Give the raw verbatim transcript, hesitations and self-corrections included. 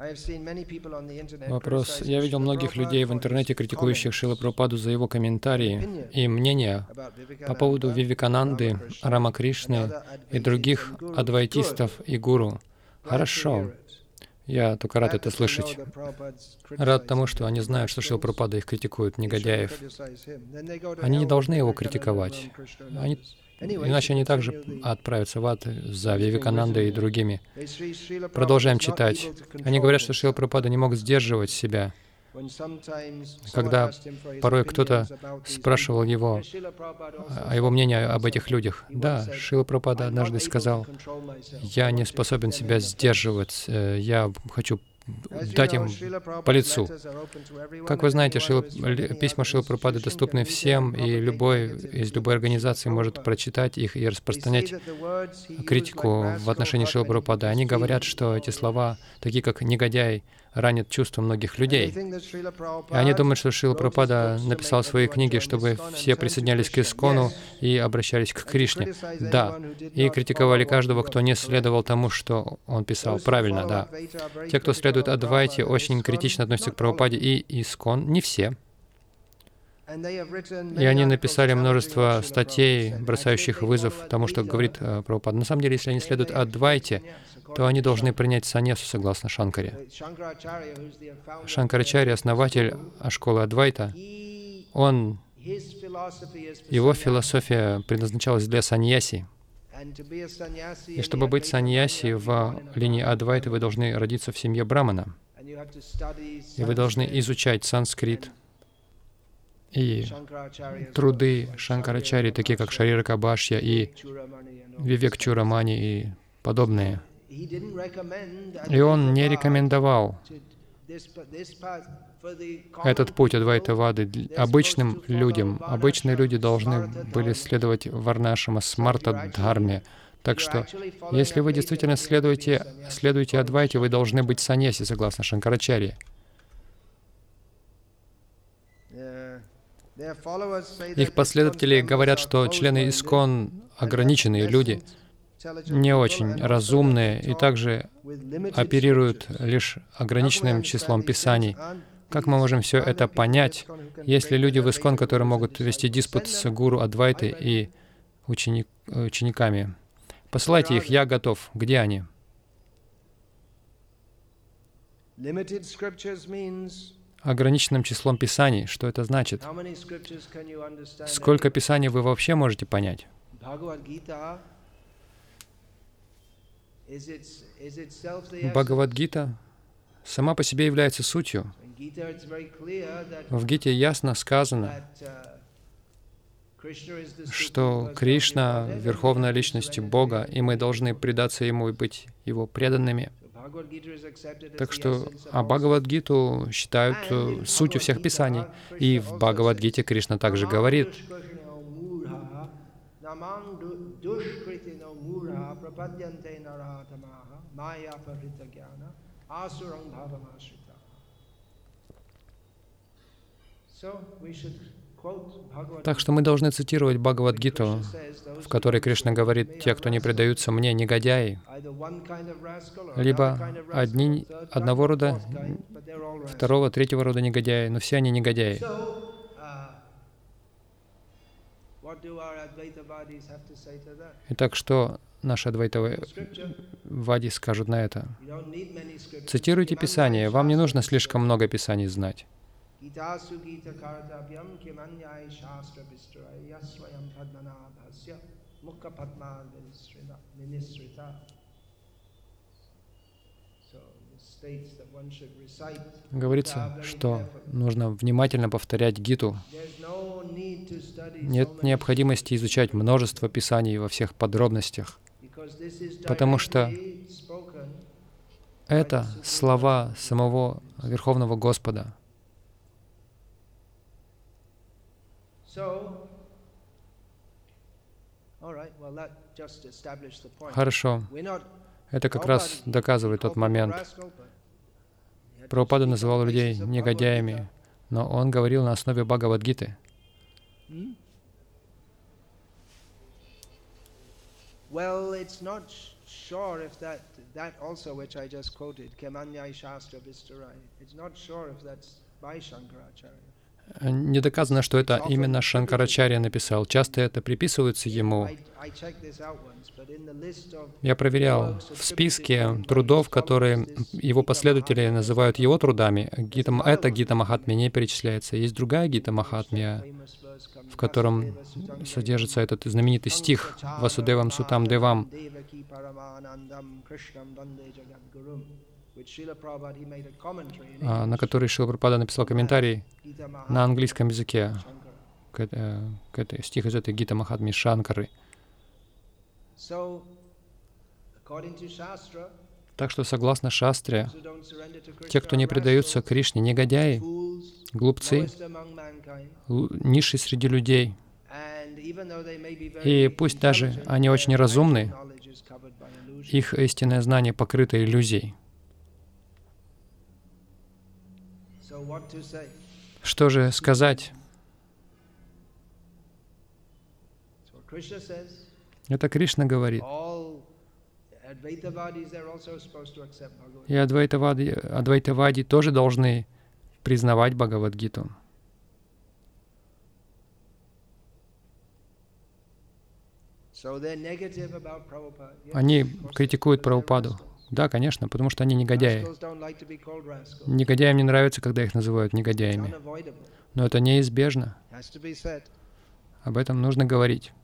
Вопрос. Я видел многих людей в интернете, критикующих Шрила Прабхупаду за его комментарии и мнения по поводу Вивекананды, Рамакришны и других адвайтистов и гуру. Хорошо. Я только рад это слышать. Рад тому, что они знают, что Шрила Прабхупада их критикует, негодяев. Они не должны его критиковать. Они... Иначе они также отправятся в ад за Вивеканандой и другими. Продолжаем читать. Они говорят, что Шрила Прабхупада не мог сдерживать себя. Когда порой кто-то спрашивал его о его мнении об этих людях. Да, Шрила Прабхупада однажды сказал: «Я не способен себя сдерживать, я хочу дать им по лицу». Как вы знаете, Шрила, письма Шрилы Прабхупады доступны всем, и любой из любой организации может прочитать их и распространять критику в отношении Шрилы Прабхупады. Они говорят, что эти слова, такие как «негодяй», ранят чувства многих людей. И они думают, что Шрила Прабхупада написал свои книги, чтобы все присоединялись к Искону и обращались к Кришне. Да. И критиковали каждого, кто не следовал тому, что он писал. Правильно, да. Те, кто следует Адвайте, очень критично относятся к Прабхупаде и Искон. Не все. И они написали множество статей, бросающих вызов тому, что говорит Прабхупада. На самом деле, если они следуют Адвайте, то они должны принять саньясу согласно Шанкаре. Шанкарачарья, основатель школы Адвайта, он, его философия предназначалась для саньяси. И чтобы быть саньяси в линии Адвайта, вы должны родиться в семье брамана. И вы должны изучать санскрит и труды Шанкарачарьи, такие как Шарирака Бхашья и Вивек Чудамани и подобные. И он не рекомендовал этот путь Адвайтавады обычным людям. Обычные люди должны были следовать Варнашрама Смарта Дхарме. Так что, если вы действительно следуете, следуете Адвайте, вы должны быть саньяси, согласно Шанкарачарье. Их последователи говорят, что члены Искон — ограниченные люди, не очень разумные и также оперируют лишь ограниченным числом писаний. Как мы можем все это понять, если люди в Искон, которые могут вести диспут с гуру Адвайты и ученик, учениками? Посылайте их, я готов. Где они? Ограниченным числом писаний. Что это значит? Сколько писаний вы вообще можете понять? Бхагавад-гита сама по себе является сутью. В Гите ясно сказано, что Кришна — Верховная Личность Бога, и мы должны предаться Ему и быть Его преданными. Так что а Бхагавад-гиту считают сутью всех писаний. И в Бхагавад-гите Кришна также говорит: так что мы должны цитировать Бхагавад-гиту, в которой Кришна говорит: «Те, кто не предаются мне, негодяи». Либо одни, одного рода, второго, третьего рода негодяи, но все они негодяи. Итак, что наши адвайтавади скажут на это? Цитируйте Писание. Вам не нужно слишком много Писаний знать. Говорится, что нужно внимательно повторять Гиту. Нет необходимости изучать множество писаний во всех подробностях, потому что это слова самого Верховного Господа. Хорошо. Это как раз доказывает тот момент. Прабхупада называл людей негодяями, но он говорил на основе Бхагавад-гиты. Не доказано, что это именно Шанкарачарья написал. Часто это приписывается ему. Я проверял в списке трудов, которые его последователи называют его трудами. Гита, это Гита Махатмья не перечисляется. Есть другая Гита Махатмья, в котором содержится этот знаменитый стих «Васудевам Сутам Девам», на который Шрила Прабхупада написал комментарий на английском языке к, к этой стих из этой Гита Махатмьи Шанкары. Так что, согласно Шастре, те, кто не предаются Кришне, негодяи, глупцы, низшие среди людей, и пусть даже они очень разумны, их истинное знание покрыто иллюзией. Что же сказать? Это Кришна говорит. И адвайтавади, адвайтавади тоже должны признавать Бхагавад-гиту. Они критикуют Прабхупаду. Да, конечно, потому что они негодяи. Негодяям не нравится, когда их называют негодяями. Но это неизбежно. Об этом нужно говорить.